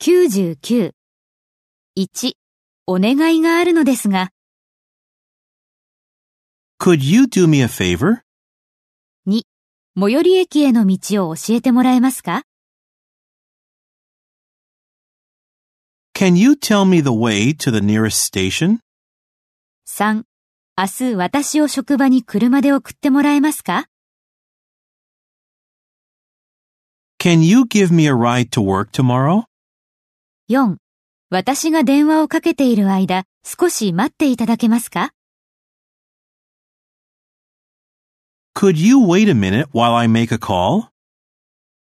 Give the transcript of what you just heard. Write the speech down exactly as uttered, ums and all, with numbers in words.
きゅうじゅうきゅう。いち、お願いがあるのですが。 Could you do me a favor? に、最寄り駅への道を教えてもらえますか？ Can you tell me the way to the nearest station? さん、明日私を職場に車で送ってもらえますか？ Can you give me a ride to work tomorrow? よん、私が電話をかけている間、少し待っていただけますか？ Could you wait a minute while I make a call?